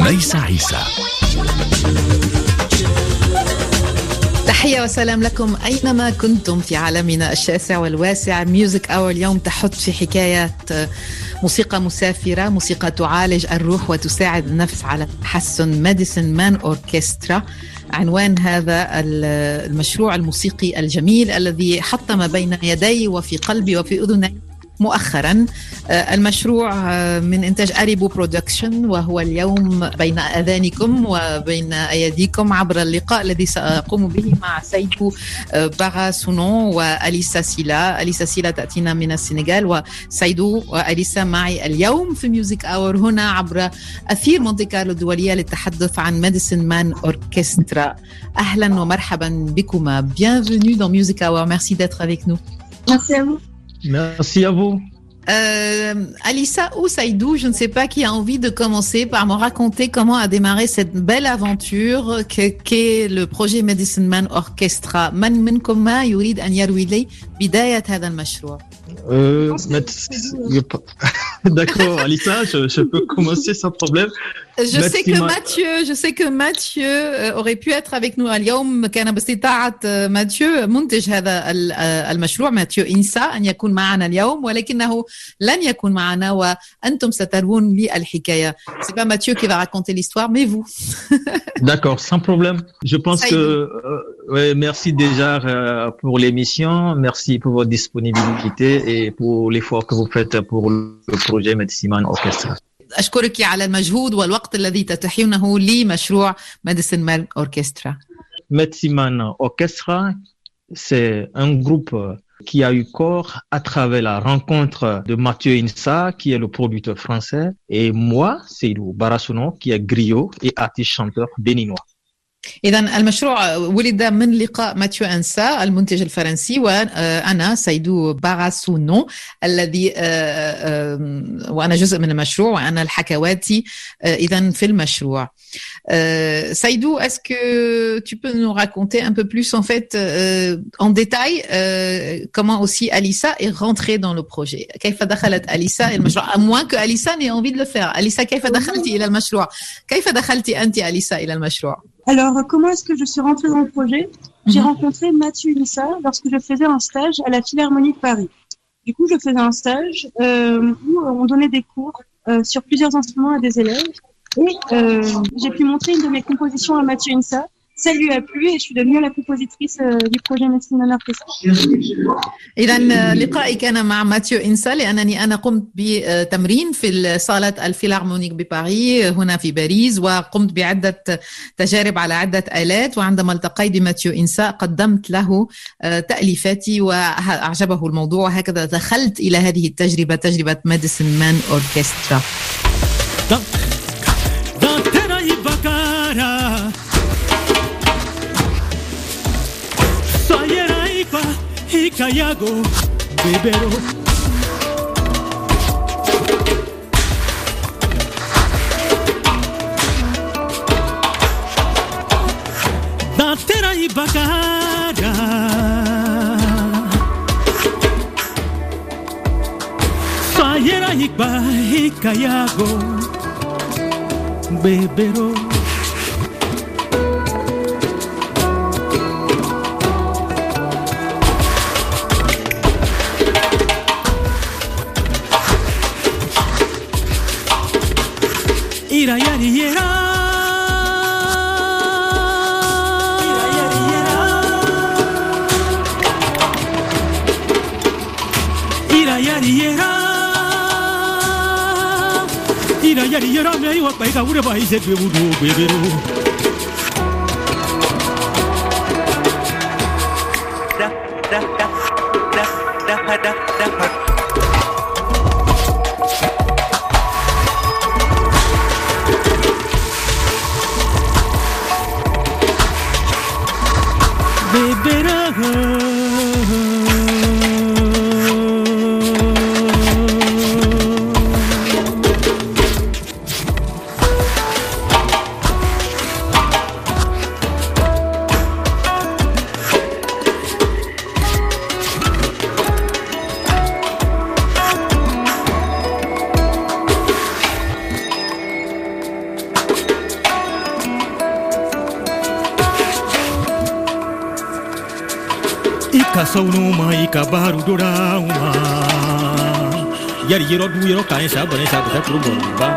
ميسة عيسى. تحية وسلام لكم أينما كنتم في عالمنا الشاسع والواسع. ميوزك أور اليوم تحط في حكاية موسيقى مسافرة، موسيقى تعالج الروح وتساعد النفس على التحسن. ميديسن مان أوركسترا عنوان هذا المشروع الموسيقي الجميل الذي حطم بين يدي وفي قلبي وفي أذني مؤخرا. المشروع من إنتاج أريبو برودكشن، وهو اليوم بين أذانكم وبين أيديكم عبر اللقاء الذي سأقوم به مع سيدو باغاسونون وأليسا سيلا. أليسا سيلا تأتينا من السنغال، وسيدو وأليسا معي اليوم في ميوزك أور هنا عبر أثير مونتي كارلو الدولية للتحدث عن ميديسن مان أوركسترا. أهلا ومرحبا بكما. Bienvenue dans Music Hour. Merci d'être avec nous. Merci à vous. Merci à vous. Alissa ou Saïdou, je ne sais pas qui a envie de commencer par me raconter comment a démarré cette belle aventure qu'est le projet Medicine Man Orchestra. من منكم ما يريد أن يروي لي بداية هذا المشروع؟ D'accord, Alissa, je peux commencer sans problème. Je sais que Mathieu aurait pu être avec nous اليوم. كان باستطاعة ماتيو منتج هذا المشروع ماتيو إنسا أن يكون معنا اليوم، ولكنه لن يكون معنا وأنتم سترون لي الحكاية. C'est pas Mathieu qui va raconter l'histoire, mais vous. D'accord, sans problème. Je pense que merci déjà pour l'émission, merci pour votre disponibilité et pour l'effort que vous faites pour le projet Medicine Man Orchestra. أشكرك على المجهود والوقت الذي تتيحونه لمشروع Medicine Man Orchestra. Medicine Man Orchestra, c'est un groupe qui a eu corps à travers la rencontre de Mathieu Insa, qui est le producteur français, et moi, Seydou Baghasounon, qui est griot et artiste chanteur béninois. إذن المشروع ولد من لقاء ماتيو أنسا المنتج الفرنسي وأنا سيدو باغاسونون الذي وأنا جزء من المشروع وأنا الحكواتي إذن في المشروع. Saïdou, est-ce que tu peux nous raconter un peu plus en fait en détail comment aussi Alissa est rentrée dans le projet? كيف دخلت أليسا المشروع؟ à moins que Alissa n'ait envie de le faire. Alissa, كيف دخلتي إلى المشروع؟ كيف دخلتي أنت أليسا إلى المشروع؟ Alors, comment est-ce que je suis rentrée dans le projet? J'ai rencontré Mathieu Insa lorsque je faisais un stage à la Philharmonie de Paris. Du coup, je faisais un stage où on donnait des cours sur plusieurs instruments à des élèves. Et j'ai pu montrer une de mes compositions à Mathieu Insa. Ça lui a plu et je suis devenue la compositrice du projet Medicine Man Orchestra. إذن لقائي كان مع ماتيو إنسا لأنني أنا قمت بتمرين في صالة الفيلارمونيك بباريس هنا في باريس، وقمت بعدة تجارب على عدة آلات، وعندما التقيت بماتيو إنسا قدمت له تأليفاتي وأعجبه الموضوع، وهكذا دخلت إلى هذه التجربة، تجربة ميديسن مان أوركسترا. Cayago, bebero. Datera y bagara. Sayera y cayago, bebero. Ira yari yera, ira yari yera, ira yari yera, ira yari yera. Me iba a pegar una país de bebudo, bebero. Da da da da da da da. Kasaunuma ikabaru dorauma Yari yero du yero kain sabane sabata kurumba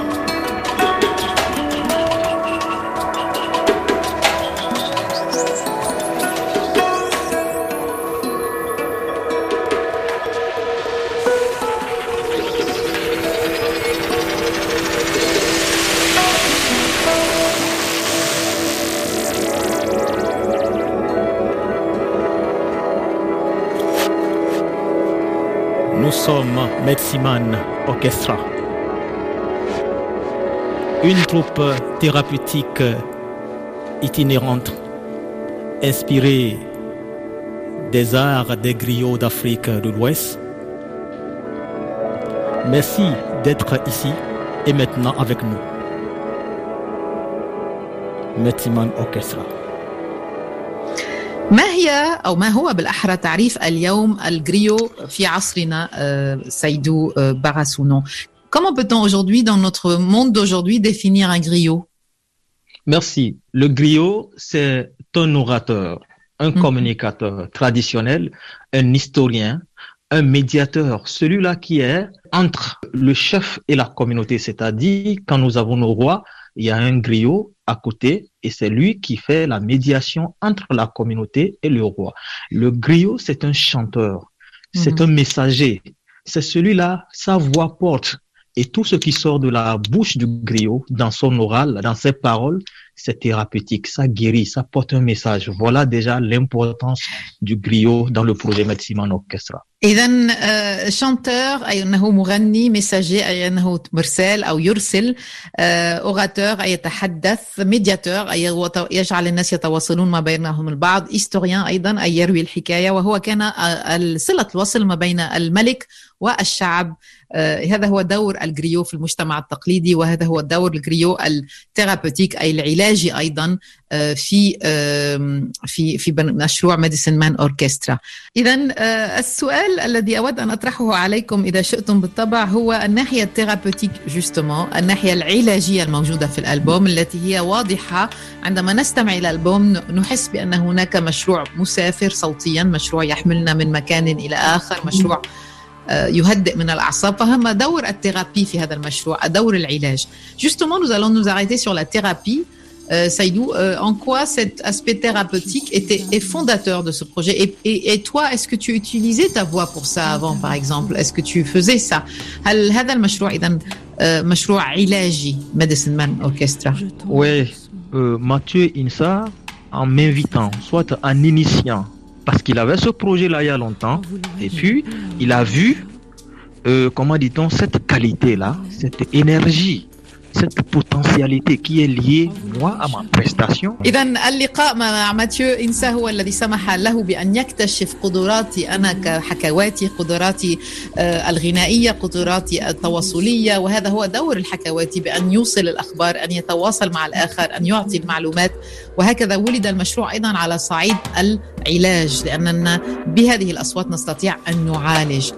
Nous sommes Metsiman Orchestra, une troupe thérapeutique itinérante inspirée des arts des griots d'Afrique de l'Ouest. Merci d'être ici et maintenant avec nous. Metsiman Orchestra. ما هي أو ما هو بالأحرى تعريف اليوم الجريو في عصرنا سيدو Barasounon? Comment peut-on aujourd'hui, dans notre monde d'aujourd'hui, définir un griot? Merci. Le griot, c'est un orateur, un communicateur traditionnel, un historien, un médiateur, celui-là qui est entre le chef et la communauté. C'est-à-dire, quand nous avons nos rois, il y a un griot à côté et c'est lui qui fait la médiation entre la communauté et le roi. Le griot, c'est un chanteur, c'est un messager. C'est celui-là, sa voix porte. Et tout ce qui sort de la bouche du griot, dans son oral, dans ses paroles, c'est thérapeutique, ça guérit, ça porte un message. Voilà déjà l'importance du griot dans le projet Metsiman Orchestra. إذن chanteur أي أنه مغني messager أي أنه مرسال أو يرسل orateur أي يتحدث médiateur أي يجعل الناس يتواصلون ما بينهم البعض historien أيضا أي يروي الحكاية وهو كان صلة الوصل ما بين الملك والشعب. هذا هو دور الجريو في المجتمع التقليدي وهذا هو دور الجريو الثيرابوتيك أي العلاجي أيضا في مشروع ميديسين مان أوركسترا. إذن السؤال الذي أود أن أطرحه عليكم إذا شئتم بالطبع هو الناحية الثيرابوتيك جوستومون، الناحية العلاجية الموجودة في الألبوم التي هي واضحة. عندما نستمع إلى الألبوم نحس بأن هناك مشروع مسافر صوتيا، مشروع يحملنا من مكان إلى آخر، مشروع يهدئ من الأعصاب. فهم دور الثيرابي في هذا المشروع، دور العلاج. Justement, nous allons nous arrêter sur la thérapie. Saïdou, en quoi cet aspect thérapeutique est fondateur de ce projet et toi, est-ce que tu utilisais ta voix pour ça avant, par exemple? Est-ce que tu faisais ça? هل هذا المشروع إذن مشروع علاجي Medicine Man Orchestra? Oui, Mathieu Insa, en m'invitant, soit en initiant, parce qu'il avait ce projet-là il y a longtemps, et puis il a vu, comment dit-on, cette qualité-là, cette énergie, cette potentialité qui est liée, moi, à ma prestation. إذن اللقاء مع ماتيو إنسا هو الذي سمح له بأن يكتشف قدراتي أنا كحكواتي، قدراتي الغنائية، قدراتي التواصلية، وهذا هو دور الحكواتي بأن يوصل الأخبار، أن يتواصل مع الآخر، أن يعطي المعلومات. وهكذا ولد المشروع أيضا على صعيد العلاج، لأننا بهذه الأصوات نستطيع أن نعالج.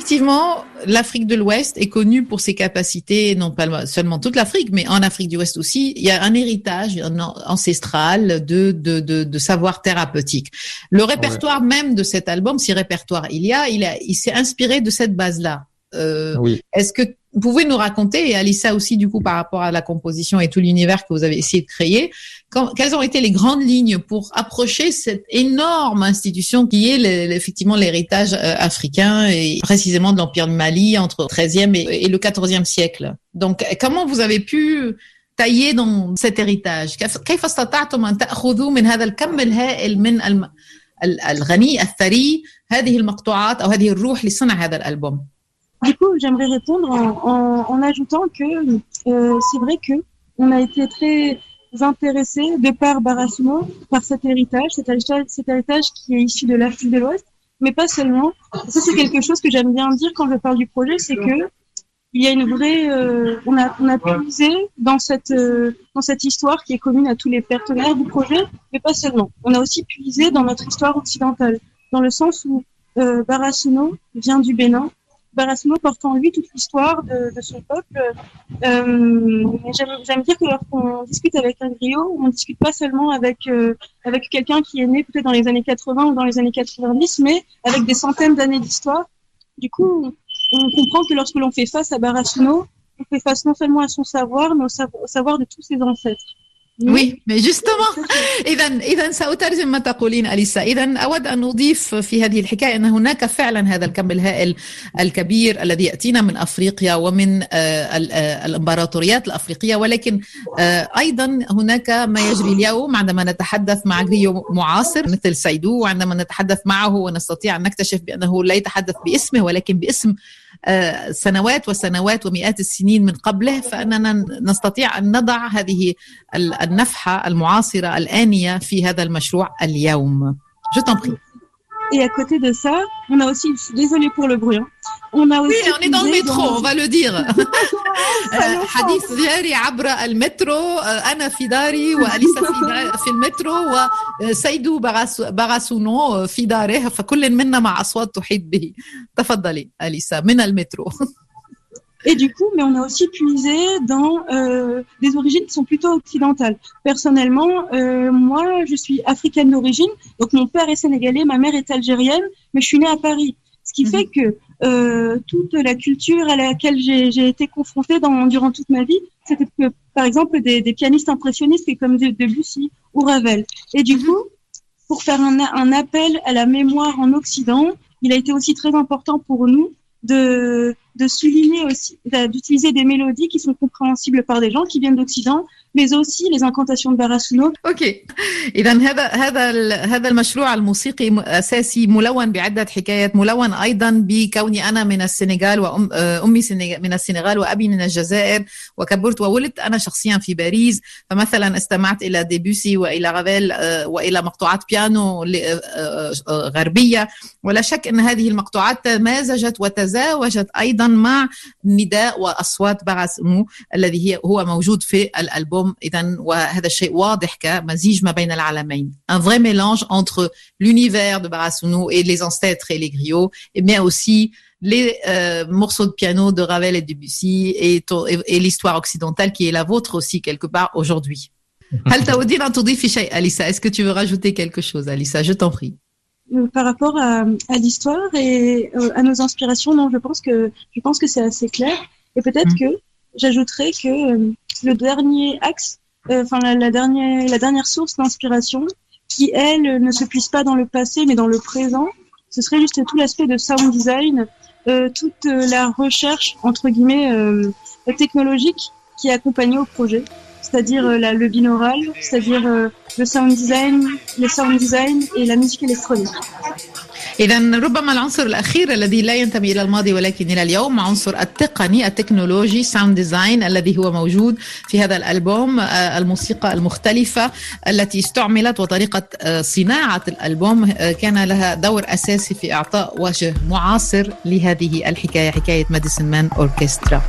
effectivement, l'Afrique de l'Ouest est connue pour ses capacités, non pas seulement toute l'Afrique, mais en Afrique du Ouest aussi. Il y a un héritage ancestral de savoir thérapeutique. Le répertoire même de cet album, si répertoire il s'est inspiré de cette base-là. Oui. Est-ce que vous pouvez nous raconter, et Alissa aussi du coup par rapport à la composition et tout l'univers que vous avez essayé de créer, quelles ont été les grandes lignes pour approcher cette énorme institution qui est effectivement l'héritage africain et précisément de l'Empire du Mali entre le XIIIe et le XIVe siècle. Donc comment vous avez pu tailler dans cet héritage? كيف استطعتم أن تأخذوا من هذا الكم الهائل من الغني الثري هذه المقطوعات أو هذه الروح لصنع هذا الألبوم؟ Du coup, j'aimerais répondre en ajoutant que c'est vrai que on a été très intéressés de par Barassuno, par cet héritage qui est issu de l'Afrique de l'Ouest, mais pas seulement. Ça, c'est quelque chose que j'aime bien dire quand je parle du projet, c'est que il y a une vraie, on a puisé dans cette histoire qui est commune à tous les partenaires du projet, mais pas seulement. On a aussi puisé dans notre histoire occidentale, dans le sens où Barassuno vient du Bénin. Barassuno porte en lui toute l'histoire de son peuple. J'aime dire que lorsqu'on discute avec un griot, on ne discute pas seulement avec quelqu'un qui est né peut-être dans les années 80 ou dans les années 90, mais avec des centaines d'années d'histoire. Du coup, on comprend que lorsque l'on fait face à Barassuno, on fait face non seulement à son savoir, mais au savoir de tous ses ancêtres. Oui, mais justement, إذا سأترجم ما تقولين أليسا. إذا أود أن أضيف في هذه الحكاية أن هناك فعلا هذا الكم الهائل الكبير الذي يأتينا من أفريقيا ومن الإمبراطوريات الأفريقية، ولكن أيضا هناك ما يجري اليوم عندما نتحدث مع غريو معاصر مثل سيدو، وعندما نتحدث معه ونستطيع أن نكتشف بأنه لا يتحدث باسمه ولكن باسم سنوات وسنوات ومئات السنين من قبله، فأننا نستطيع أن نضع هذه النفحة المعاصرة الآنية في هذا المشروع اليوم. Je t'en prie. Et à côté de ça, on a aussi, désolé pour le bruit, on a aussi... Oui, on est dans le métro, on va le dire. حديث جاري عبر المترو، أنا في داري وأليسا في المترو وسيدو باراسونو في داره، فكل منا مع أصوات تحيط به. تفضلي أليسا من المترو. Et du coup, mais on a aussi puisé dans des origines qui sont plutôt occidentales. Personnellement, moi, je suis africaine d'origine, donc mon père est sénégalais, ma mère est algérienne, mais je suis née à Paris. Ce qui fait que toute la culture à laquelle j'ai été confrontée durant toute ma vie, c'était que, par exemple, des pianistes impressionnistes comme Debussy ou Ravel. Et du coup, pour faire un appel à la mémoire en Occident, il a été aussi très important pour nous de souligner aussi, d'utiliser des mélodies qui sont compréhensibles par des gens qui viennent d'Occident, mais aussi les incantations de Barassuno. اوكي، اذا هذا المشروع الموسيقي اساسي ملون بعده حكايات، ملون ايضا بكوني انا من السنغال وامي من السنغال وابي من الجزائر، وكبرت وولدت انا شخصيا في باريس، فمثلا استمعت الى ديبوسي والى رافيل والى مقطوعات بيانو غربيه، ولا شك ان هذه المقطوعات تمازجت وتزاوجت ايضا مع نداء واصوات باراسونو الذي هو موجود في الالبوم. إذن وهذا الشيء واضح كمزيج ما بين العالمين. Un vrai mélange entre l'univers de Barassuno et les ancêtres et les griots, mais aussi les morceaux de piano de Ravel et Debussy et l'histoire occidentale qui est la vôtre aussi quelque part aujourd'hui. هل تودين أن تضيفي شيء أليسا? Est-ce que tu veux rajouter quelque chose, Alissa? Je t'en prie. Par rapport à l'histoire et à nos inspirations, non, je pense que c'est assez clair. Et peut-être que j'ajouterais que le dernier axe, la dernière source d'inspiration, qui elle ne se puise pas dans le passé mais dans le présent, ce serait juste tout l'aspect de sound design, toute la recherche entre guillemets technologique qui est accompagnée au projet, c'est-à-dire le binaural, c'est-à-dire le sound design et la musique électronique. إذن ربما العنصر الأخير الذي لا ينتمي إلى الماضي ولكن إلى اليوم عنصر التقني التكنولوجي ساوند ديزاين الذي هو موجود في هذا الألبوم، الموسيقى المختلفة التي استعملت وطريقة صناعة الألبوم كان لها دور أساسي في إعطاء وجه معاصر لهذه الحكاية، حكاية ماديسون مان أوركسترا.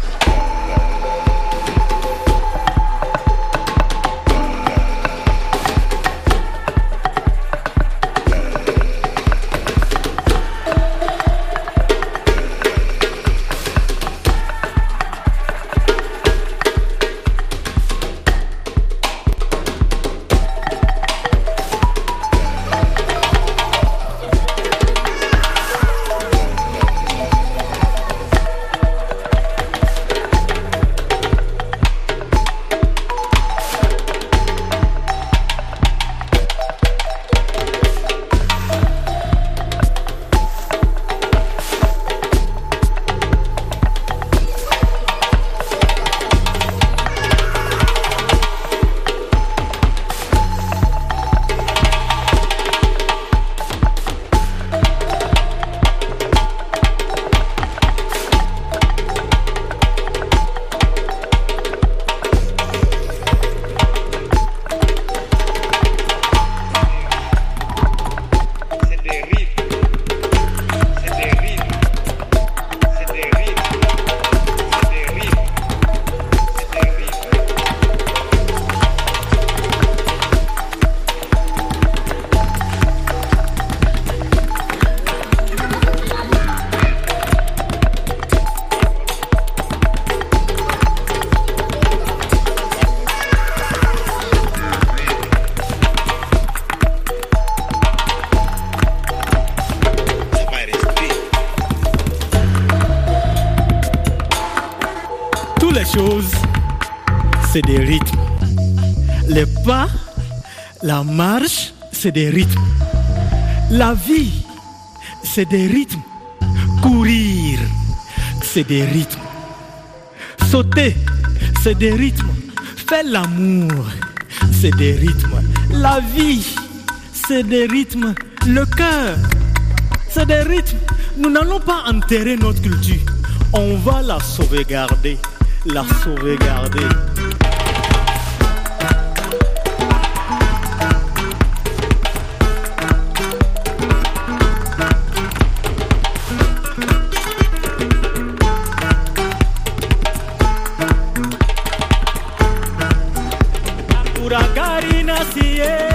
c'est des rythmes. Les pas, la marche, c'est des rythmes. La vie, c'est des rythmes. Courir, c'est des rythmes. Sauter, c'est des rythmes. Faire l'amour, c'est des rythmes. La vie, c'est des rythmes. Le cœur, c'est des rythmes. Nous n'allons pas enterrer notre culture. On va la sauvegarder. La sauvegarder. Uragari nasie.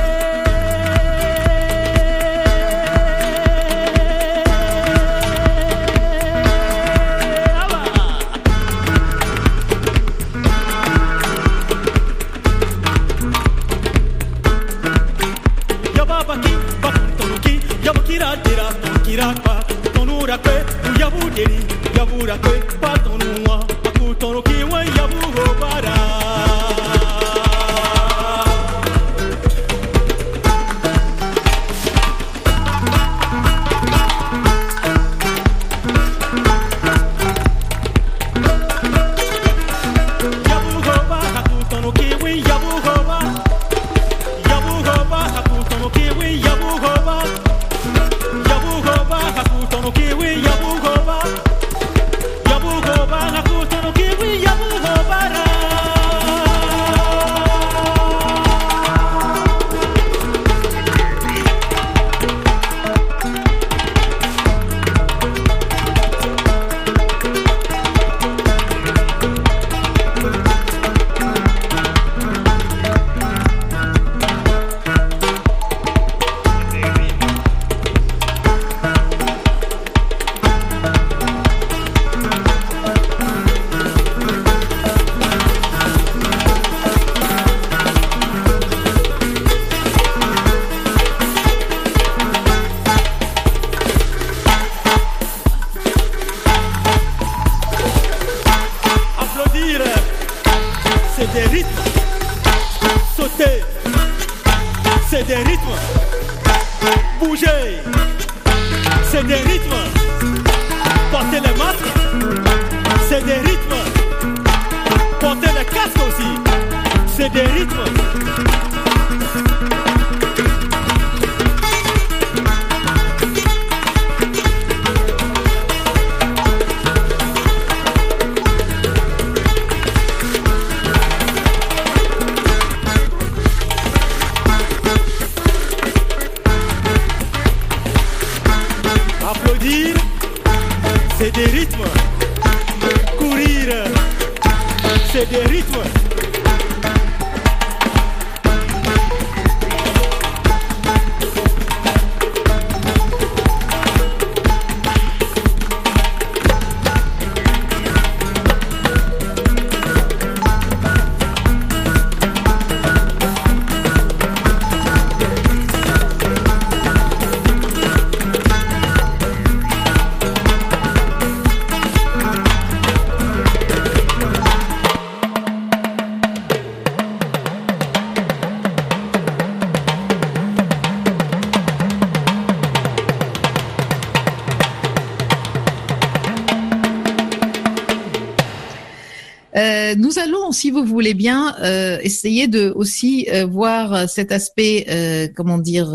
Nous allons, si vous voulez bien, essayer de aussi voir cet aspect, comment dire,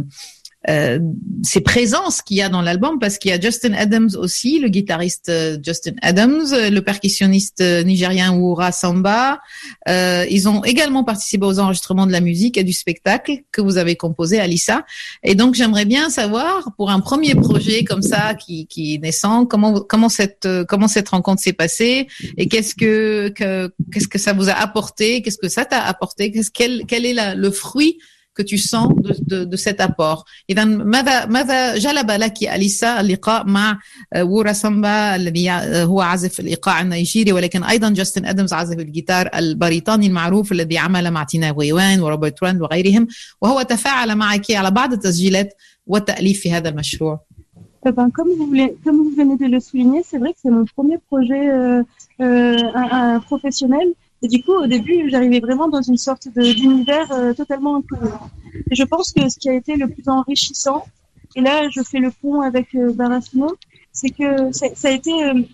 ces présences qu'il y a dans l'album, parce qu'il y a Justin Adams aussi, le guitariste Justin Adams, le percussionniste nigérien Wura Samba. Ils ont également participé aux enregistrements de la musique et du spectacle que vous avez composé, Alissa. Et donc, j'aimerais bien savoir, pour un premier projet comme ça qui est naissant, comment cette rencontre s'est passée et qu'est-ce que ça vous a apporté, qu'est-ce que ça t'a apporté, quel est le fruit que tu sens de cet apport. إذا ماذا جلب لك أليسا اللقاء مع وورا سامبا الذي هو عازف الإيقاع النيجيري ولكن أيضا جاستن أدمز عازف الجيتار البريطاني المعروف الذي عمل مع تينا غويوان وروبرت راند وغيرهم وهو تفاعل معك على بعض التسجيلات والتأليف في هذا المشروع. Comme vous venez de le souligner, c'est vrai que c'est mon premier projet professionnel Et du coup, au début, j'arrivais vraiment dans une sorte d'univers totalement inconnu. Et je pense que ce qui a été le plus enrichissant, et là, je fais le pont avec Barasino, c'est que ça a été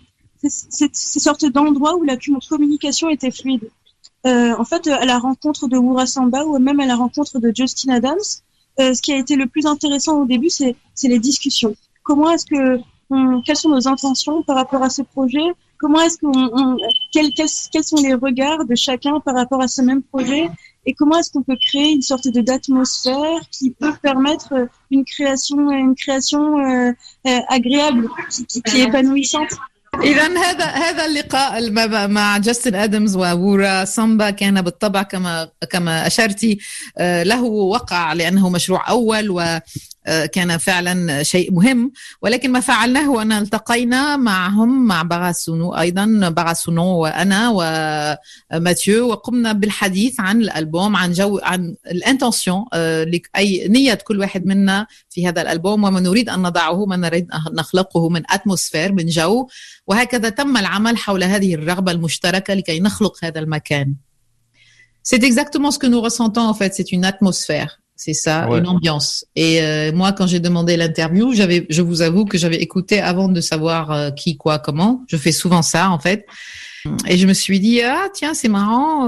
ces sortes d'endroits où la communication était fluide. En fait, à la rencontre de Wura Samba ou même à la rencontre de Justin Adams, ce qui a été le plus intéressant au début, c'est les discussions. Comment est-ce que quelles sont nos intentions par rapport à ce projet? Comment est-ce quels sont les regards de chacun par rapport à ce même projet? Et comment est-ce qu'on peut créer une sorte d'atmosphère qui peut permettre une création agréable, qui est épanouissante? إذا هذا اللقاء مع جاستن آدمز وورا سامبا كان بالطبع كما أشرتي له وقع لأنه مشروع أول وكان فعلا شيء مهم، ولكن ما فعلناه أن التقينا معهم مع بغاسونو أيضا، بغاسونو وأنا وماتيو، وقمنا بالحديث عن الألبوم، عن الانتنسيون، أي نية كل واحد منا في هذا الألبوم، وما نريد أن نضعه، ما نريد أن نخلقه من أتموسفير، من جو، وهكذا تم العمل حول هذه الرغبة المشتركة لكي نخلق هذا المكان. C'est exactement ce que nous ressentons en fait, c'est une atmosphère, c'est ça, ouais. Une ambiance. Et moi, quand j'ai demandé l'interview, je vous avoue que j'avais écouté avant de savoir qui, quoi, comment. Je fais souvent ça en fait. Et je me suis dit, ah tiens, c'est marrant,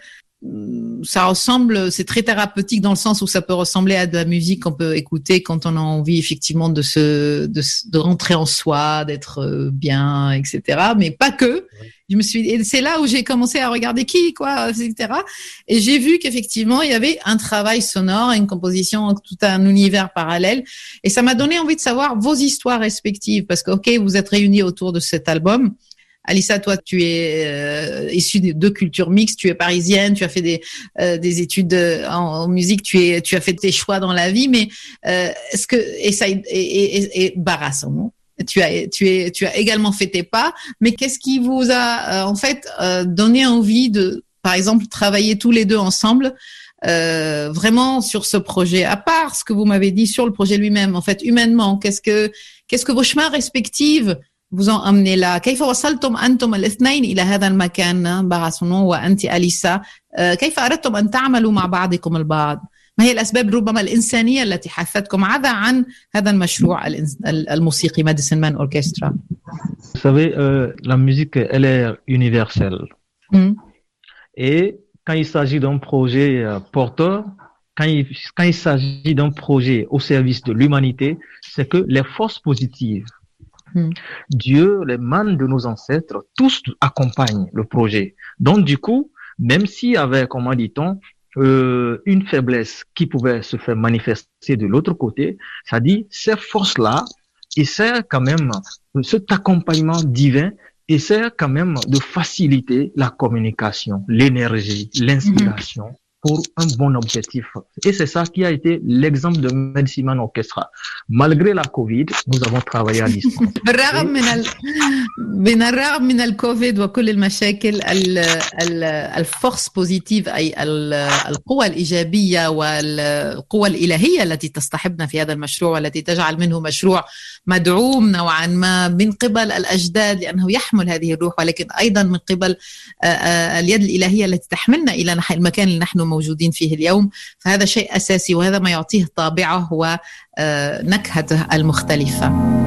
ça ressemble, c'est très thérapeutique dans le sens où ça peut ressembler à de la musique qu'on peut écouter quand on a envie effectivement de rentrer en soi, d'être bien, etc. Mais pas que. Et c'est là où j'ai commencé à regarder qui, quoi, etc. Et j'ai vu qu'effectivement, il y avait un travail sonore, une composition, tout un univers parallèle. Et ça m'a donné envie de savoir vos histoires respectives parce que, ok, vous êtes réunis autour de cet album. Alissa, toi, tu es issue de deux cultures mixtes, tu es parisienne, tu as fait des études en musique, tu as fait tes choix dans la vie, mais est-ce que et Barasson, tu as également fait tes pas, mais qu'est-ce qui vous a en fait donné envie de, par exemple, travailler tous les deux ensemble vraiment sur ce projet, à part ce que vous m'avez dit sur le projet lui-même, en fait, humainement, qu'est-ce que vos chemins respectifs vous ont amené là. كيف وصلتم أنتم الاثنين إلى هذا المكان بغاسونو وأنت أليسا؟ كيف أردتم أن تعملوا مع بعضكم البعض؟ ما هي الأسباب ربما الإنسانية التي حثتكم عن هذا المشروع الموسيقي Medicine Man Orchestra? Vous savez, la musique, elle est universelle. Et quand il s'agit d'un projet porteur, quand il s'agit d'un projet au service de l'humanité, c'est que les forces positives, Dieu, les mânes de nos ancêtres, tous accompagnent le projet. Donc, du coup, même s'il y avait, comment dit-on, une faiblesse qui pouvait se faire manifester de l'autre côté, ça dit, ces forces-là essaient quand même, cet accompagnement divin essaie quand même de faciliter la communication, l'énergie, l'inspiration pour un bon objectif. Et c'est ça qui a été l'exemple de Medicine Man Orchestra. Malgré la Covid, nous avons travaillé à distance. بالرغم من الكوفيد وكل المشاكل، الفورس بوزيتيف أي القوى الإيجابية والقوى الإلهية التي تصطحبنا في هذا المشروع والتي تجعل منه مشروع مدعوم نوعا ما من قبل الأجداد لأنه يحمل هذه الروح، ولكن أيضا من قبل اليد الإلهية التي تحملنا إلى المكان اللي نحن موجودين فيه اليوم. فهذا شيء أساسي وهذا ما يعطيه طابعه ونكهته المختلفة.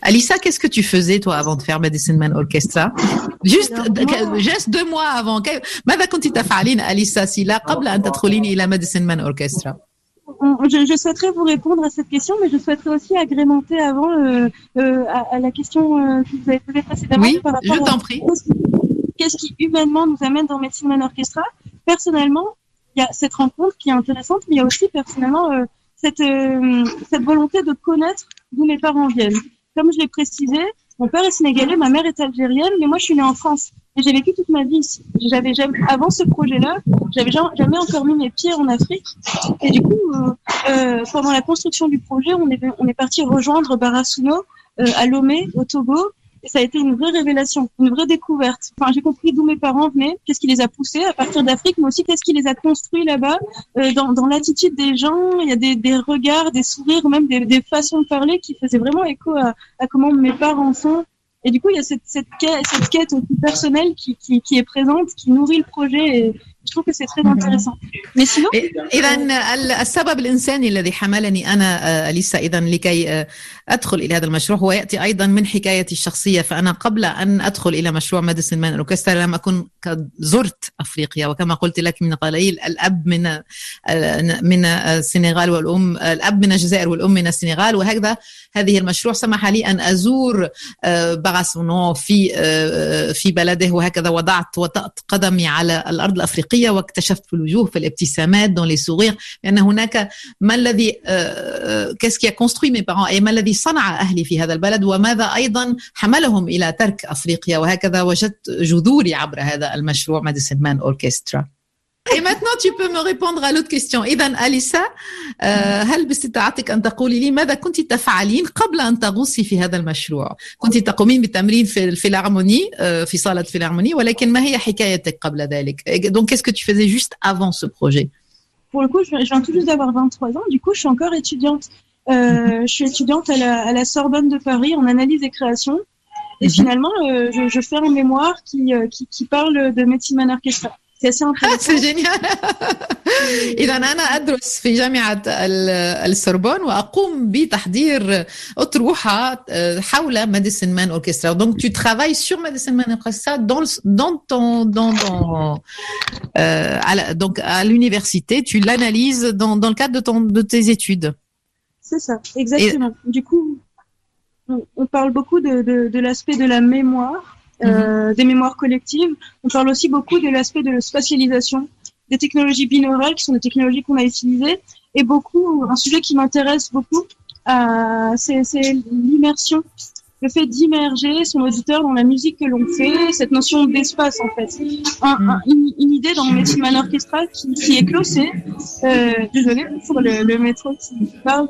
Alissa, qu'est-ce que tu faisais toi avant de faire Medicine Man Orchestra? Juste 2 mois avant. ماذا كنت تفعلين أليسا سيلا قبل أن تدخلين إلى Medicine Man Orchestra? Je souhaiterais vous répondre à cette question, mais je souhaiterais aussi agrémenter avant à la question que vous avez posée précédemment. Oui, par rapport je t'en prie. Qu'est-ce qui humainement nous amène dans Medicine Man Orchestra? Personnellement, il y a cette rencontre qui est intéressante, mais il y a aussi personnellement cette volonté de connaître d'où mes parents viennent. Comme je l'ai précisé, mon père est sénégalais, ma mère est algérienne, mais moi je suis née en France et j'ai vécu toute ma vie ici. J'avais jamais, avant ce projet-là, j'avais jamais encore mis mes pieds en Afrique. Et du coup, pendant la construction du projet, on est parti rejoindre Barasouno à Lomé, au Togo. Et ça a été une vraie révélation, une vraie découverte. Enfin, j'ai compris d'où mes parents venaient, qu'est-ce qui les a poussés à partir d'Afrique, mais aussi qu'est-ce qui les a construits là-bas, dans l'attitude des gens. Il y a des regards, des sourires, même des façons de parler qui faisaient vraiment écho à comment mes parents sont. Et du coup, il y a cette quête aussi personnelle qui est présente, qui nourrit le projet. Et je trouve que c'est très intéressant. Mais sinon... إذن السبب الإنساني الذي حملني أنا أليسا إذن لكي أدخل إلى هذا المشروع هو يأتي أيضا من حكايتي الشخصية. فأنا قبل أن أدخل إلى مشروع ميديسين مان أوركسترا لم أكن قد زرت أفريقيا، وكما قلت لك من قليل الأب من السنغال والأم، الأب من الجزائر والأم من السنغال، وهكذا هذه المشروع سمح لي أن أزور باراسونو في بلده، وهكذا وطأت قدمي على الأرض الأفريقية واكتشفت في الوجوه، في الابتسامات، dans les sourires، لأن هناك ما الذي qu'est-ce qui a construit mes parents et ما الذي صنع أهلي في هذا البلد، وماذا أيضا حملهم إلى ترك أفريقيا، وهكذا وجدت جذوري عبر هذا المشروع Medicine Man Orchestra. Et maintenant, tu peux me répondre à l'autre question. إذن أليسا، هل باستطاعتك أن تقولي لي ماذا كنت تفعلين قبل أن تغوصي في هذا المشروع؟ كنت تقومين بالتمرين في الفيلارموني، في صالة الفيلارموني، ولكن ما هي حكايتك قبل ذلك؟ Donc, qu'est-ce que tu faisais juste avant ce projet? Pour le coup, je viens tout juste d'avoir 23 ans. Du coup, je suis encore étudiante. Je suis étudiante à la Sorbonne de Paris en analyse et création. Et finalement, je fais un mémoire qui parle de Medicine Man Orchestra. C'est assez intéressant. C'est génial. إذا أنا أدرس في جامعة السوربون وأقوم بتحضير أطروحة حول Medicine Man Orchestra. Donc tu travailles sur Medicine Man Orchestra donc à l'université, tu l'analyses dans le cadre de tes études. C'est ça, exactement. Du coup, on parle beaucoup de l'aspect de la mémoire. Des mémoires collectives. On parle aussi beaucoup de l'aspect de la spatialisation, des technologies binaurales qui sont des technologies qu'on a utilisées, et un sujet qui m'intéresse beaucoup, c'est l'immersion, le fait d'immerger son auditeur dans la musique que l'on fait, cette notion d'espace en fait. Une idée dans Medicine Man Orchestra qui est clossée. Désolée pour le métro qui parle.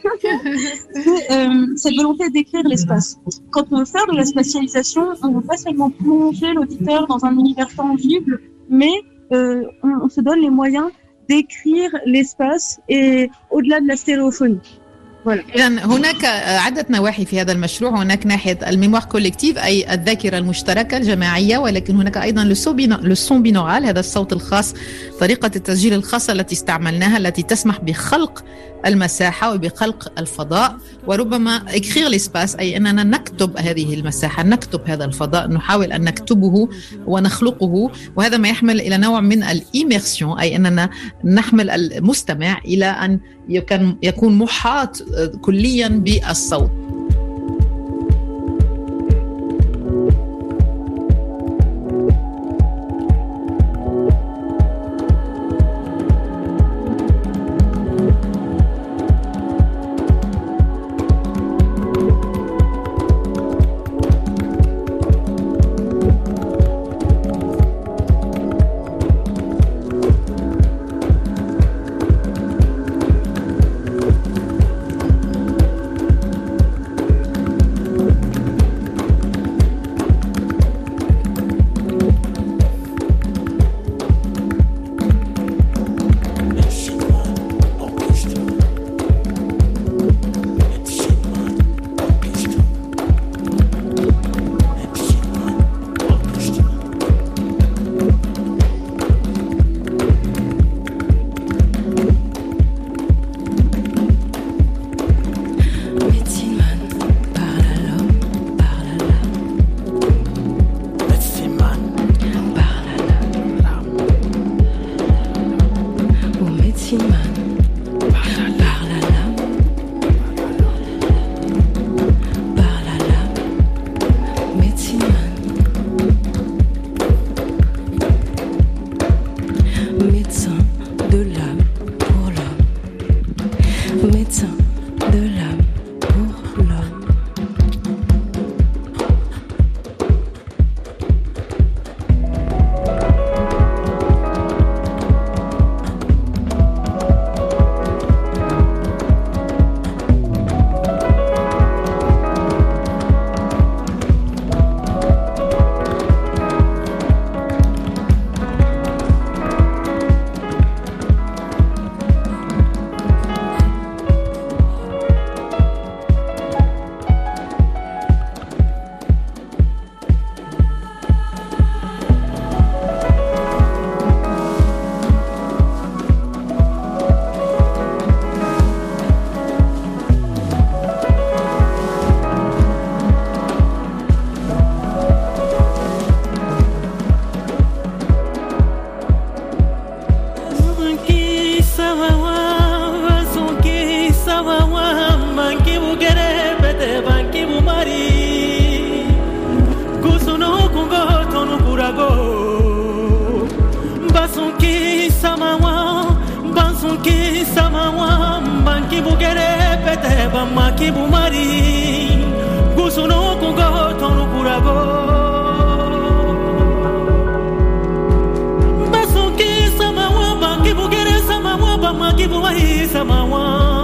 Cette volonté d'écrire l'espace. Quand on veut faire de la spatialisation, on ne veut pas seulement plonger l'auditeur dans un univers tangible, mais on se donne les moyens d'écrire l'espace et au-delà de la stéréophonie. إذن هناك عدة نواحي في هذا المشروع. هناك ناحية الميموار كوليكتيف أي الذاكرة المشتركة الجماعية، ولكن هناك أيضا لو بينورال، هذا الصوت الخاص، طريقة التسجيل الخاصة التي استعملناها التي تسمح بخلق المساحة وبخلق الفضاء، وربما écrire l'espace أي أننا نكتب هذه المساحة، نكتب هذا الفضاء، نحاول أن نكتبه ونخلقه، وهذا ما يحمل إلى نوع من الإيميرسيون أي أننا نحمل المستمع إلى أن يكون محاط كليا بالصوت. makibu kere pete ba makibu mari gusuno kungo tonu kurago basuki samawa makibu kere samawa ba makibu mari samawa.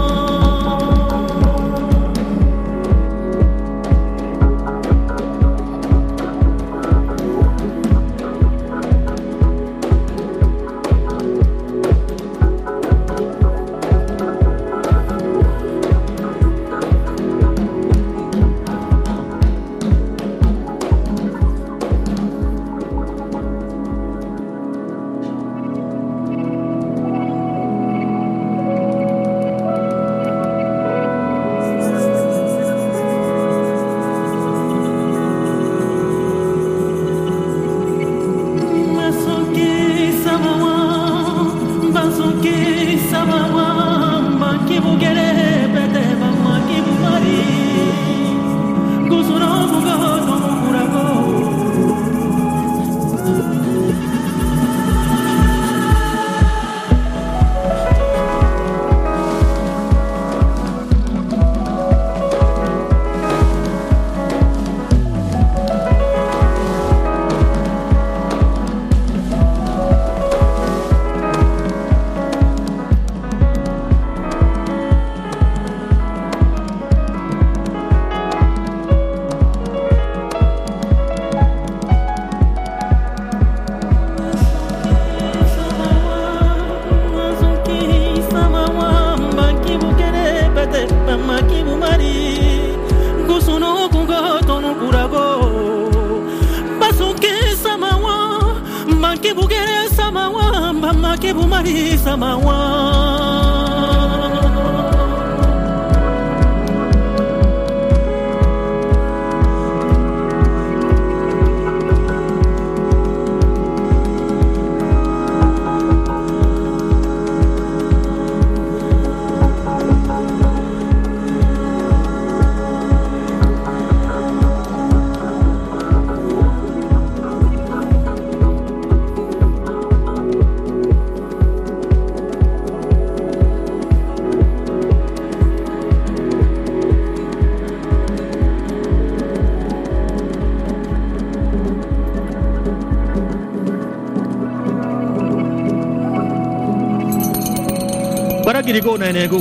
Baragirigo na nego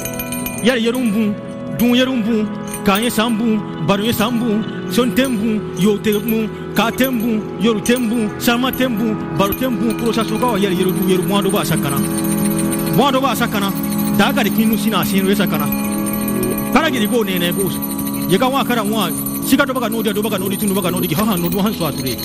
yar yarumbu dun yarumbu kanye sambu baruye sambu sontembu yotembu katembu yorutembu samatembu barutembu prosa soka yar yarudu yaru mwando ba sakana daga de kinu sina sinu sakana baragirigo ne nego yega wa kara wa siga do baga nodi tunu baga nodi ha ha no do han so ature.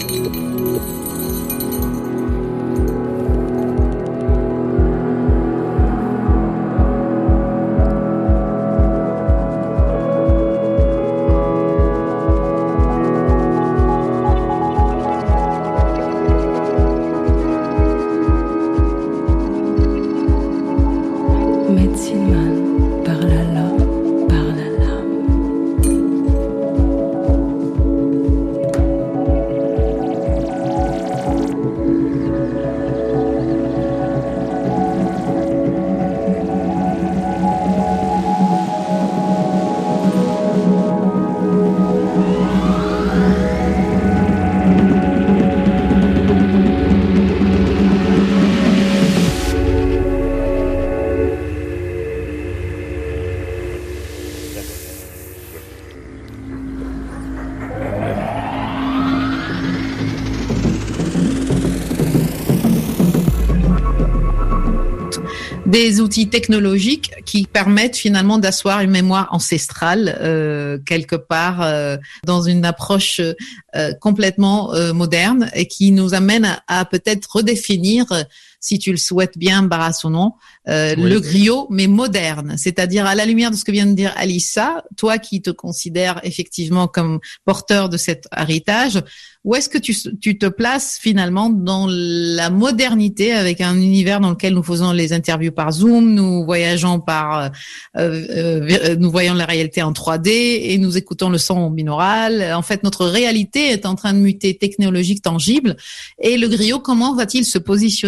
Des outils technologiques qui permettent finalement d'asseoir une mémoire ancestrale quelque part dans une approche complètement moderne et qui nous amène à peut-être redéfinir, si tu le souhaites bien, Barasonon, oui, le griot, mais moderne. C'est-à-dire à la lumière de ce que vient de dire Alissa, toi qui te considères effectivement comme porteur de cet héritage, où est-ce que tu te places finalement dans la modernité avec un univers dans lequel nous faisons les interviews par Zoom, nous voyageons nous voyons la réalité en 3D et nous écoutons le son binaural. En fait, notre réalité est en train de muter technologique, tangible. Et le griot, comment va-t-il se positionner là-dedans?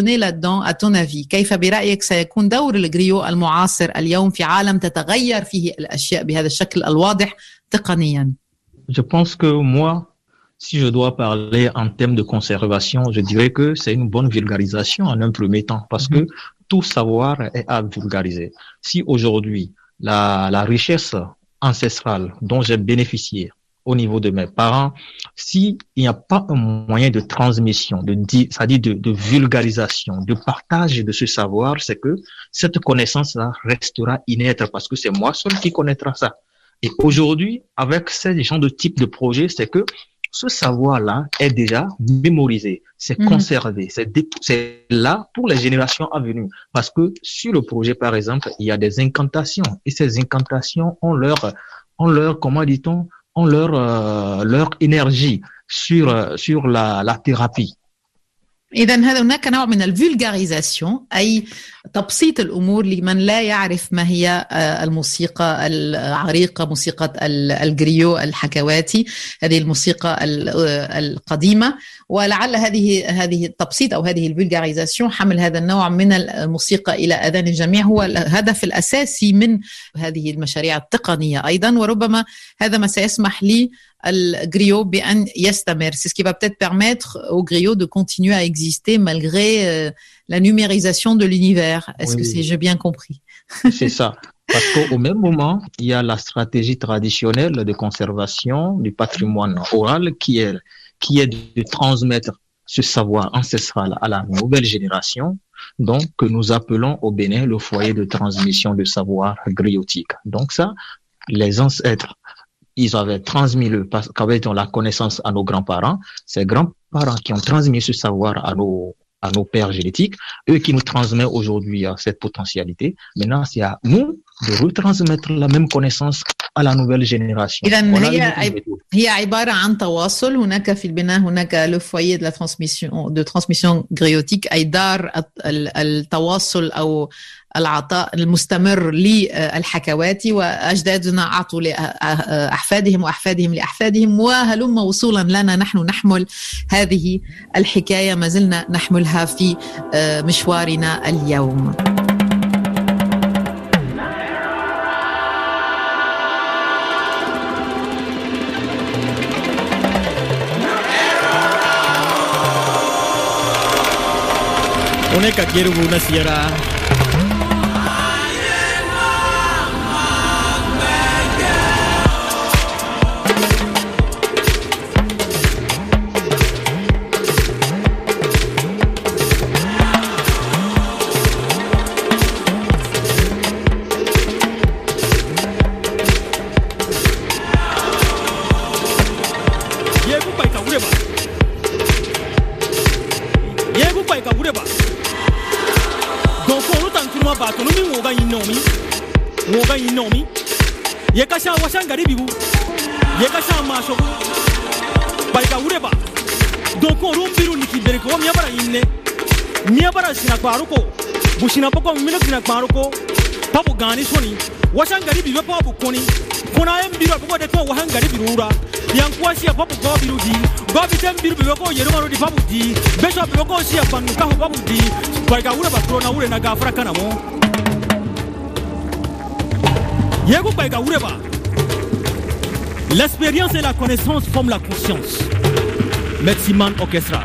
là-dedans, à ton avis? كيف برأيك سيكون دور الجريو المعاصر اليوم في عالم تتغير فيه الأشياء بهذا الشكل الواضح تقنيا؟ Je pense que moi, si je dois parler en termes de conservation, je dirais que c'est une bonne vulgarisation en un premier temps, parce que tout savoir est à vulgariser. Si aujourd'hui, la richesse ancestrale dont j'ai bénéficié au niveau de mes parents, s'il n'y a pas un moyen de transmission, c'est-à-dire de vulgarisation, de partage de ce savoir, c'est que cette connaissance-là restera inerte, parce que c'est moi seul qui connaîtra ça. Et aujourd'hui, avec ce genre de type de projet, c'est que ce savoir-là est déjà mémorisé, c'est conservé, c'est là pour les générations à venir. Parce que sur le projet, par exemple, il y a des incantations, et ces incantations ont leur, comment dit-on, ont leur énergie sur la thérapie. إذا هناك نوع من الفولغاريزاسيون، أي تبسيط الأمور لمن لا يعرف ما هي الموسيقى العريقة، موسيقى الجريو الحكواتي، هذه الموسيقى القديمة. ولعل هذه التبسيط أو هذه الفولغاريزاسيون، حمل هذا النوع من الموسيقى إلى أذان الجميع، هو الهدف الأساسي من هذه المشاريع التقنية أيضا. وربما هذا ما سيسمح لي le griot يستمر. C'est ce qui va peut-être permettre au griot de continuer à exister malgré la numérisation de l'univers. Est-ce que j'ai bien compris? C'est ça. Parce qu'au même moment, il y a la stratégie traditionnelle de conservation du patrimoine oral qui est de transmettre ce savoir ancestral à la nouvelle génération, donc que nous appelons au Bénin le foyer de transmission de savoir griotique. Donc ça, les ancêtres, ils avaient transmis qu'avaient la connaissance à nos grands-parents, ces grands-parents qui ont transmis ce savoir à nos pères génétiques, eux qui nous transmettent aujourd'hui cette potentialité. Maintenant, c'est à nous de retransmettre la même connaissance à la nouvelle génération. هي عبارة عن تواصل. هناك في البناء هناك لو فويي دو ترانسميسيون غريوتيك، أي دار التواصل أو العطاء المستمر للحكواتي، وأجدادنا أعطوا لأحفادهم وأحفادهم لأحفادهم، وهلم وصولا لنا نحن نحمل هذه الحكاية، ما زلنا نحملها في مشوارنا اليوم. هناك كيرو نسيرا yekasha washangari bibu yekasha mashoku baika ureba donc rumbiru nikibereko myabara inne myabara sina kwaruko bushina poko mino sina kwaruko pabu gani soni washangari bibu pabu koni kona embiro poko de to washangari birura yankwasi pabu go birudi go bitem biru ko yerumaro di pabu di beso ko sia panu ka pabu di baika ureba krona ure na gafra kanamo Yego Baika Ureba. L'expérience et la connaissance forment la conscience. Metsiman Orchestra.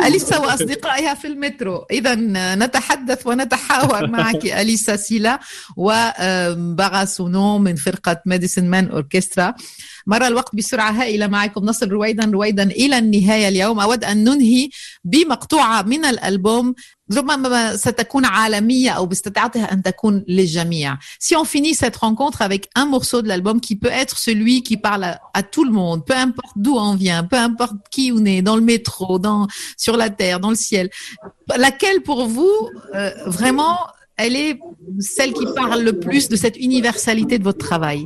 أليسا وأصدقائها في المترو. إذا نتحدث ونتحاور معك أليسا سيلا وباغاسونو من فرقة ميديسين مان أوركسترا. مر الوقت بسرعة هائلة معكم، نصل رويدا إلى النهاية اليوم. أود أن ننهي بمقطوعة من الألبوم ربما ستكون عالمية أو باستطاعتها أن تكون للجميع. Si on finit cette rencontre avec un morceau de l'album qui peut être celui qui parle à tout le monde, peu importe d'où on vient, peu importe qui on est, dans le métro, sur la terre, dans le ciel, laquelle pour vous, vraiment, elle est celle qui parle le plus de cette universalité de votre travail?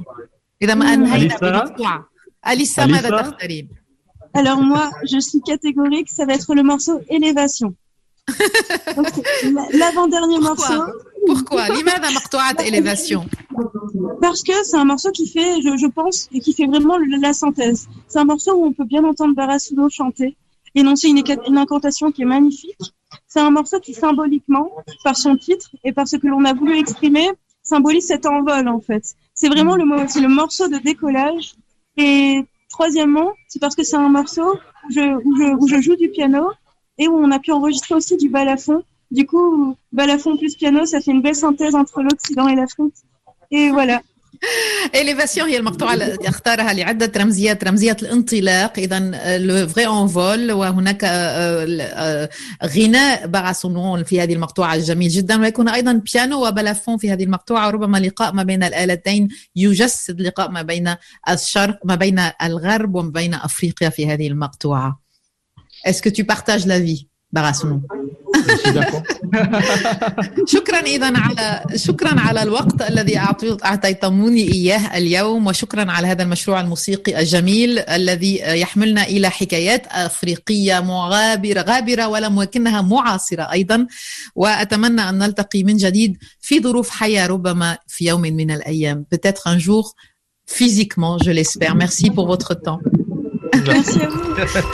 Alissa, ماذا تختارين? Alors moi, je suis catégorique, ça va être le morceau Élévation. Donc, l'avant-dernier morceau. Pourquoi? لماذا مقطوعة Élévation? Parce que c'est un morceau qui fait, je pense, et qui fait vraiment la synthèse. C'est un morceau où on peut bien entendre Bagasouno chanter, énoncer une incantation qui est magnifique. C'est un morceau qui symboliquement, par son titre et par ce que l'on a voulu exprimer, symbolise cet envol en fait. C'est vraiment c'est le morceau de décollage. Et troisièmement, c'est parce que c'est un morceau où je joue du piano et où on a pu enregistrer aussi du balafon. Du coup, balafon plus piano, ça fait une belle synthèse entre l'Occident et l'Afrique. Et voilà. Élévation هي المقطوعة التي اختارها لعدة رمزيات، رمزية الانطلاق، إذا le vrai envol، وهناك غناء باغاسونو في هذه المقطوعة الجميل جدا، ويكون أيضا بيانو وبلافون في هذه المقطوعة، وربما لقاء ما بين الآلتين يجسد لقاء ما بين الشرق، ما بين الغرب وما بين أفريقيا في هذه المقطوعة. Est-ce que tu partages l'avis, باغاسونو؟ شكرا على الوقت الذي أعطيتموني إياه اليوم، وشكرا على هذا المشروع الموسيقي الجميل الذي يحملنا إلى حكايات أفريقية غابرة ولكنها معاصرة أيضا. وأتمنى أن نلتقي من جديد في ظروف حية، ربما في يوم من الأيام، peut-être un jour physiquement, je l'espère. Merci pour votre temps. Merci à vous.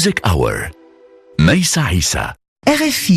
Music Hour. ميسة عيسى. RFI